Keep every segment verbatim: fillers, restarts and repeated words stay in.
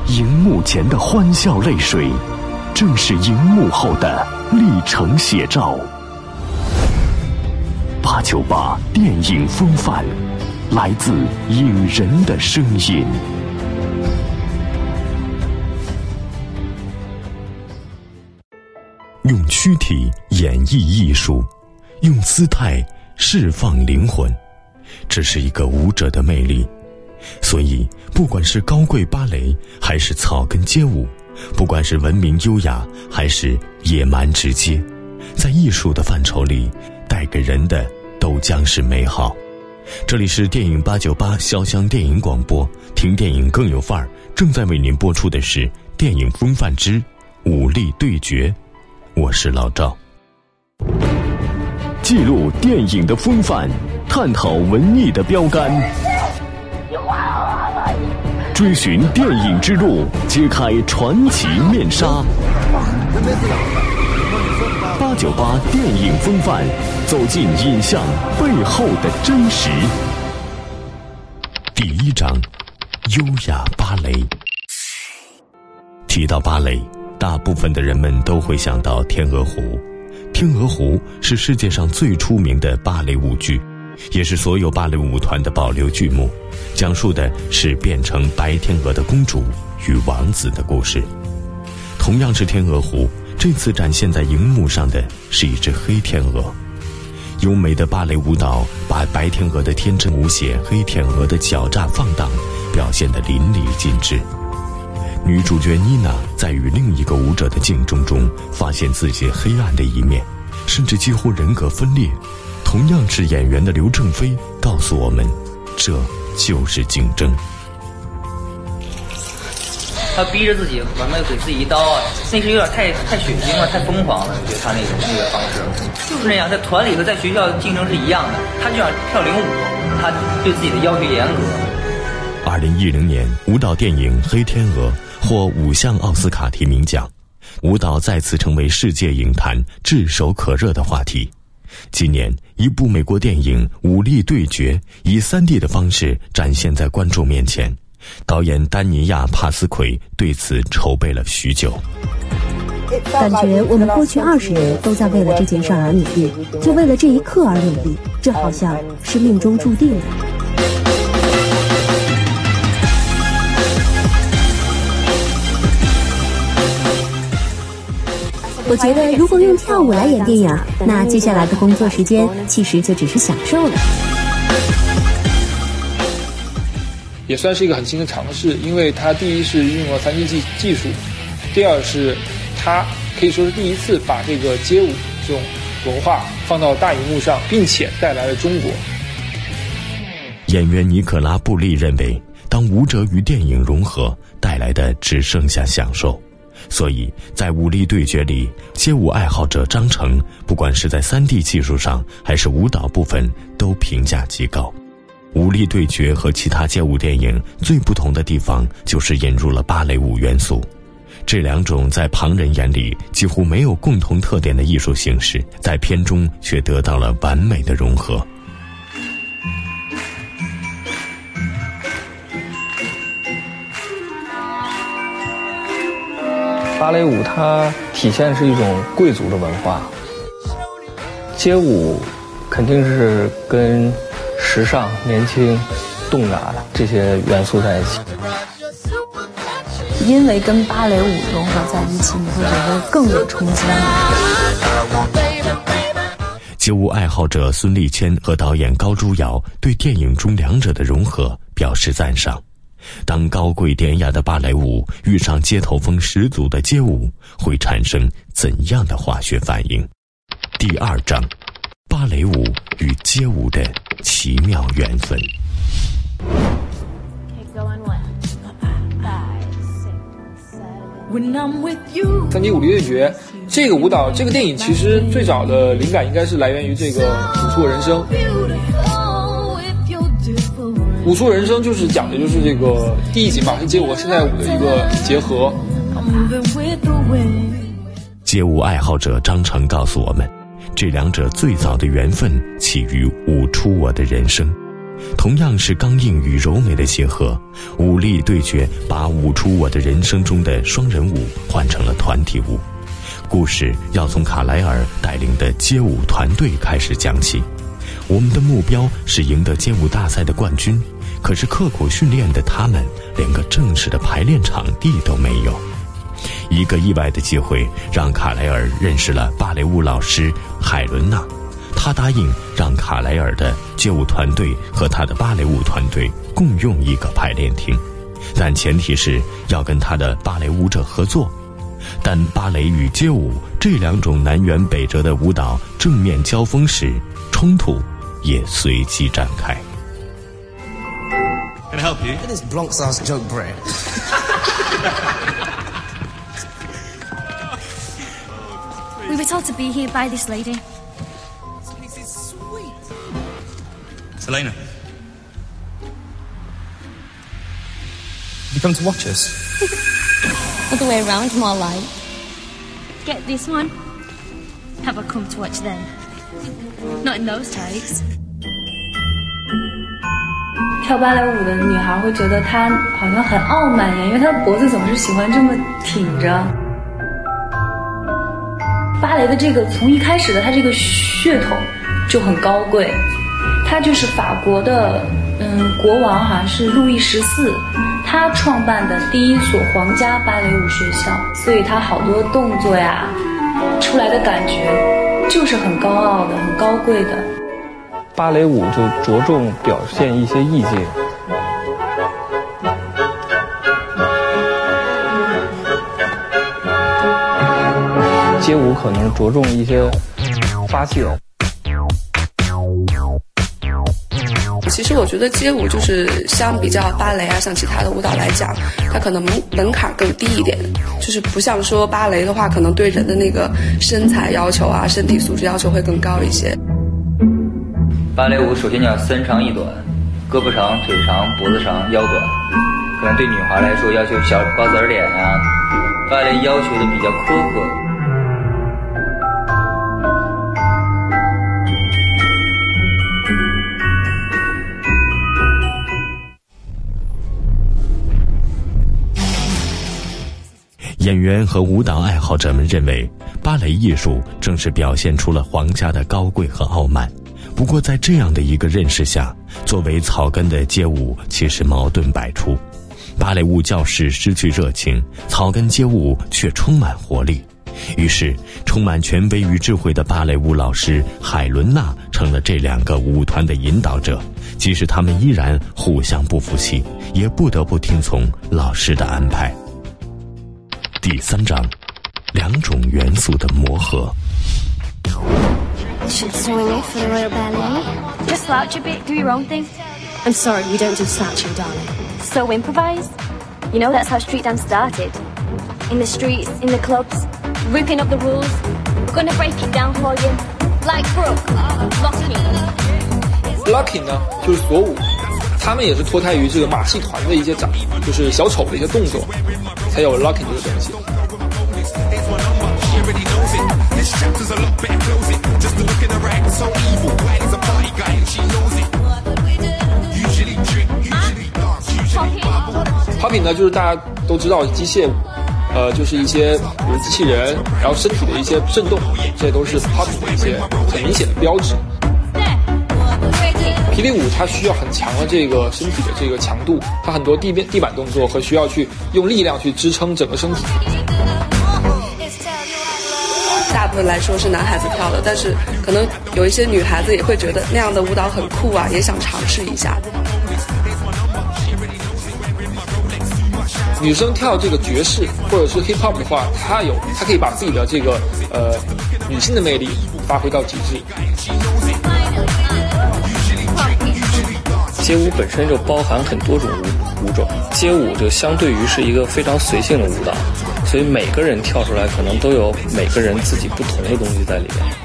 荧幕前的欢笑泪水，正是荧幕后的历程写照。八九八电影风范，来自影人的声音。用躯体演绎艺术，用姿态释放灵魂，这是一个舞者的魅力。所以不管是高贵芭蕾还是草根街舞，不管是文明优雅还是野蛮直接，在艺术的范畴里带给人的都将是美好。这里是电影八九八潇湘电影广播，听电影更有范儿，正在为您播出的是电影风范之武力对决，我是老赵。记录电影的风范，探讨文艺的标杆，追寻电影之路，揭开传奇面纱。八九八电影风范，走进影像背后的真实。第一章，优雅芭蕾。提到芭蕾，大部分的人们都会想到天鹅湖。天鹅湖是世界上最出名的芭蕾舞剧，也是所有芭蕾舞团的保留剧目，讲述的是变成白天鹅的公主与王子的故事。同样是天鹅湖，这次展现在荧幕上的是一只黑天鹅。优美的芭蕾舞蹈把白天鹅的天真无邪、黑天鹅的狡诈放荡表现得淋漓尽致。女主角妮娜在与另一个舞者的竞争中发现自己黑暗的一面，甚至几乎人格分裂。同样是演员的刘正飞告诉我们，这就是竞争。 他逼着自己完了给自己一刀啊，那是有点太太血腥了，太疯狂了。我觉得他那种那个方式就是那样，在团里和在学校竞争是一样的。他就想跳领舞，他对自己的要求严格。 二零一零年，舞蹈电影《黑天鹅》获五项奥斯卡提名奖，舞蹈再次成为世界影坛炙手可热的话题。今年，一部美国电影《武力对决》以 三 D 的方式展现在观众面前。导演丹尼亚·帕斯奎对此筹备了许久。 感觉我们过去二十年都在为了这件事而努力，就为了这一刻而努力，这好像是命中注定的。我觉得如果用跳舞来演电影，那接下来的工作时间其实就只是享受了。 也算是一个很新的尝试，因为它第一是运用了 三 D 技技术，第二是它可以说是第一次把这个街舞这种文化放到大荧幕上，并且带来了中国。 演员尼可拉·布利认为，当舞者与电影融合，带来的只剩下享受。所以在武力对决里，街舞爱好者张成不管是在 三 D 技术上还是舞蹈部分都评价极高。武力对决和其他街舞电影最不同的地方就是引入了芭蕾舞元素。这两种在旁人眼里几乎没有共同特点的艺术形式，在片中却得到了完美的融合。 芭蕾舞它体现是一种贵族的文化，街舞肯定是跟时尚、年轻、动感这些元素在一起。 因为跟芭蕾舞融合在一起，你会觉得更有冲击力。 街舞爱好者孙立谦和导演高珠瑶对电影中两者的融合表示赞赏。当高贵典雅的芭蕾舞遇上街头风十足的街舞，会产生怎样的化学反应？第二章，芭蕾舞与街舞的奇妙缘分。 三 D 武力对决这个舞蹈，这个电影其实最早的灵感应该是来源于这个《舞错人生》。《舞错人生》就是讲的就是这个第一集嘛，是街舞和现代舞的一个结合。 街舞爱好者张成告诉我们，这两者最早的缘分起于《舞出我的人生》。同样是刚硬与柔美的结合，武力力对决，把舞出我的人生中的双人舞换成了团体舞。故事要从卡莱尔带领的街舞团队开始讲起。我们的目标是赢得街舞大赛的冠军，可是刻苦训练的他们连个正式的排练场地都没有。一个意外的机会让卡莱尔认识了芭蕾舞老师海伦娜，他答应让卡莱尔的街舞团队和他的芭蕾舞团队共用一个排练厅，但前提是要跟他的芭蕾舞者合作。但芭蕾与街舞这两种南辕北辙的舞蹈正面交锋时，冲突也随即展开。 Can I help you? It is Blanc-Sars joke bread. We were told to be here by this lady. This is sweet. Selena. You come to watch us? Other way around, more like. Get this one. Have I come to watch them? Not in those tights. 跳芭蕾舞的女孩会觉得她好像很傲慢一样，因为她的脖子总是喜欢这么挺着。芭蕾的这个从一开始的它这个血统就很高贵，它就是法国的嗯国王好像是路易十四，他创办的第一所皇家芭蕾舞学校，所以他好多动作呀出来的感觉就是很高傲的、很高贵的。 芭蕾舞就着重表现一些意境。街舞可能着重一些发泄。 其实我觉得街舞就是相比较芭蕾啊，像其他的舞蹈来讲，它可能门门槛更低一点，就是不像说芭蕾的话，可能对人的那个身材要求啊、身体素质要求会更高一些。 芭蕾舞首先叫三长一短，胳膊长、腿长、脖子长、腰短，可能对女孩来说要求小瓜子脸啊，芭蕾要求的比较苛刻。 演员和舞蹈爱好者们认为，芭蕾艺术正是表现出了皇家的高贵和傲慢。不过在这样的一个认识下，作为草根的街舞其实矛盾百出。芭蕾舞教室失去热情，草根街舞却充满活力。于是充满权威与智慧的芭蕾舞老师海伦娜成了这两个舞团的引导者，即使他们依然互相不服气，也不得不听从老师的安排。第三章，两种元素的磨合。 Should swing it for the Royal Ballet. Just slouch a bit, do your own thing. I'm sorry, we don't do slouching, darling. So improvise. You know that's how street dance started. In the streets, in the clubs, ripping up the rules. Gonna break it down for you. Like Brooke, locking. Locking 呢，就是锁舞，他们也是脱胎于这个马戏团的一些掌，就是小丑的一些动作，才有 locking 这个东西。Popping 呢，就是大家都知道机械舞，呃，就是一些比如机器人，然后身体的一些震动，这些都是 Popping 的一些很明显的标志。霹雳舞它需要很强的这个身体的这个强度，它很多地面地板动作和需要去用力量去支撑整个身体。 大部分来说是男孩子跳的，但是可能有一些女孩子也会觉得那样的舞蹈很酷啊，也想尝试一下。 女生跳这个爵士或者是 hip hop 的话，她有她可以把自己的这个呃女性的魅力发挥到极致。 街舞本身就包含很多种舞舞种，街舞就相对于是一个非常随性的舞蹈，所以每个人跳出来可能都有每个人自己不同的东西在里面。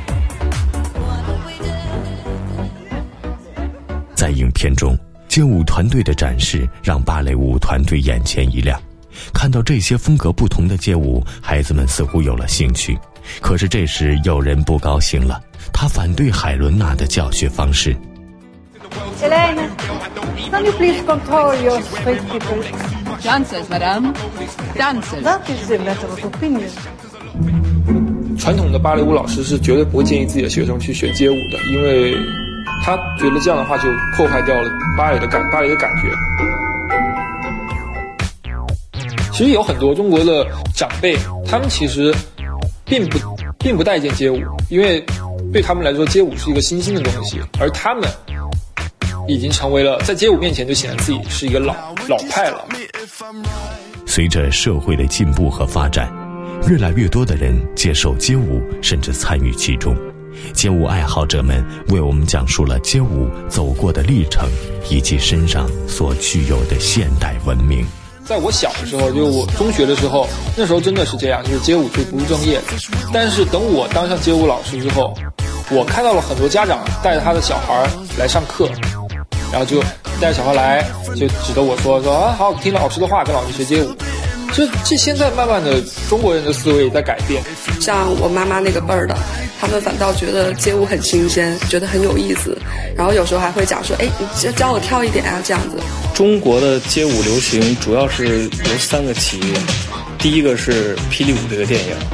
在影片中，街舞团队的展示让芭蕾舞团队眼前一亮，看到这些风格不同的街舞，孩子们似乎有了兴趣。可是这时有人不高兴了，他反对海伦娜的教学方式。 Elena, can you please control your street people? Dancers, madame. Dancers. That is a matter of opinion. 传统的芭蕾舞老师是绝对不会建议自己的学生去学街舞的，因为他觉得这样的话就破坏掉了芭蕾的感芭蕾的感觉。其实有很多中国的长辈，他们其实并不并不待见街舞，因为对他们来说，街舞是一个新兴的东西，而他们已经成为了在街舞面前就显得自己是一个老老派了。 随着社会的进步和发展，越来越多的人接受街舞，甚至参与其中。街舞爱好者们为我们讲述了街舞走过的历程，以及身上所具有的现代文明。 在我小的时候，就我中学的时候，那时候真的是这样，就是街舞就不务正业。但是等我当上街舞老师之后，我看到了很多家长带着他的小孩来上课，然后就带着小孩来，就指着我说说啊，好，听老师的话，跟老师学街舞。这这现在慢慢的中国人的思维也在改变。 像我妈妈那个辈儿的，他们反倒觉得街舞很新鲜，觉得很有意思，然后有时候还会讲说，哎，你教我跳一点啊，这样子。 中国的街舞流行主要是由三个起因，第一个是《霹雳舞》这个电影。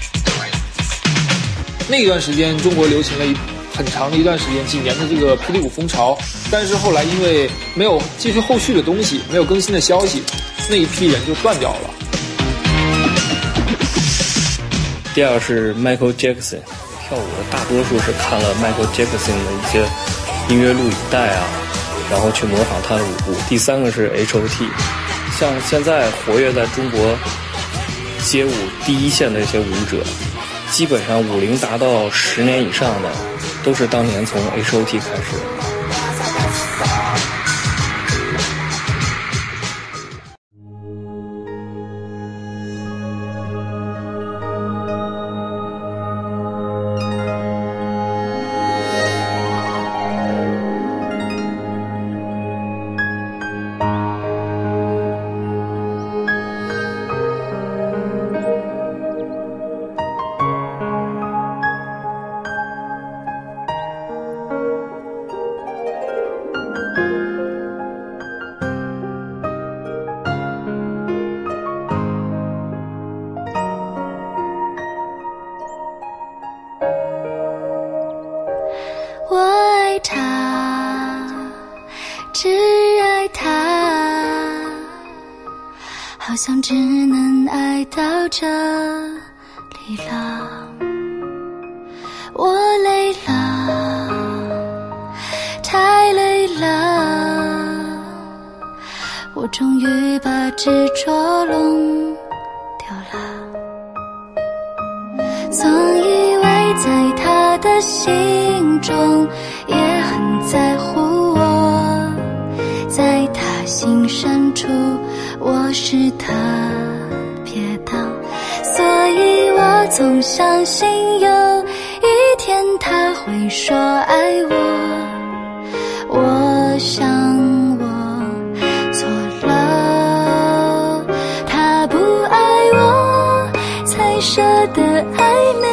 那一段时间，中国流行了一很长的一段时间，几年的这个霹雳舞风潮，但是后来因为没有继续后续的东西，没有更新的消息，那一批人就断掉了。 第二是 Michael Jackson， 跳舞的大多数是看了 Michael Jackson 的一些音乐录影带啊，然后去模仿他的舞步。第三个是 H O T， 像现在活跃在中国街舞第一线的一些舞者，基本上舞龄达到十年以上的，都是当年从 H O T 开始的。 我爱他，只爱他，好像只能爱到这里了。我累了，太累了，我终于把执着弄掉了。总以为在他的心中也很在乎我，在他心深处我是特别的，所以我总相信有一天他会说爱我。我想我错了，他不爱我才舍得爱美，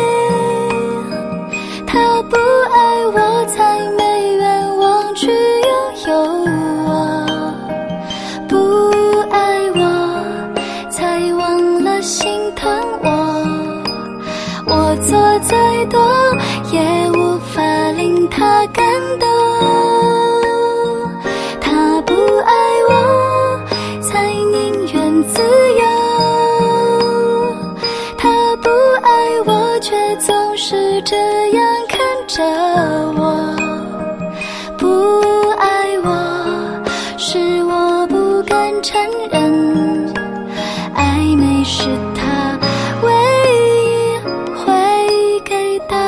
他不爱我才没愿望去拥有我，不爱我才忘了心疼我，我做再多也无法令他感动，他不爱我才宁愿自由，他不爱我却总是这样看着我，不爱我是我不敢承认，暧昧是他唯一会给的。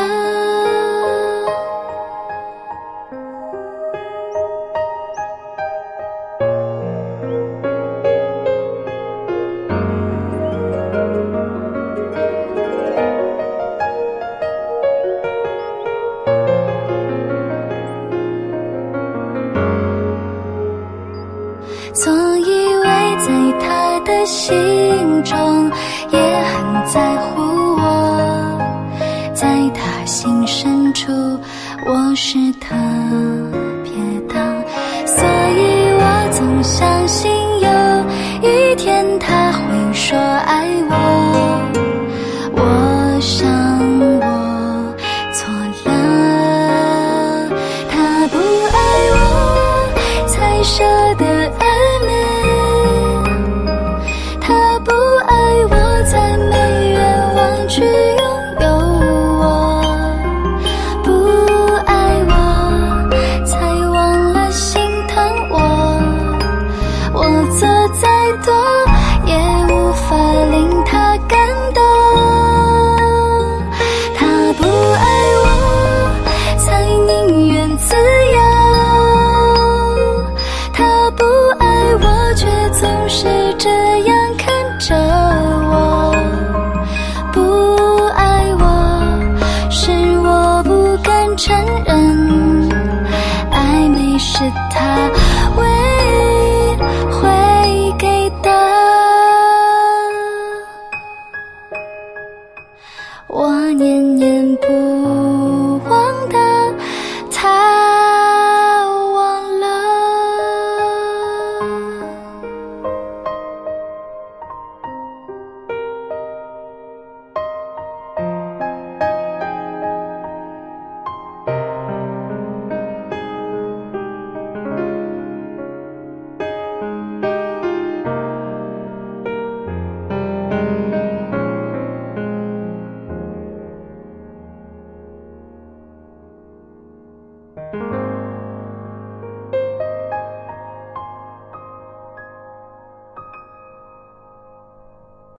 总以为在他的心中也很在乎我，在他心深处我是特别的，所以我总相信有说爱我，我想我错了，他不爱我才舍得爱恋，他不爱我才没愿望去拥有我，不爱我才忘了心疼我，我做再多也无法令他感动。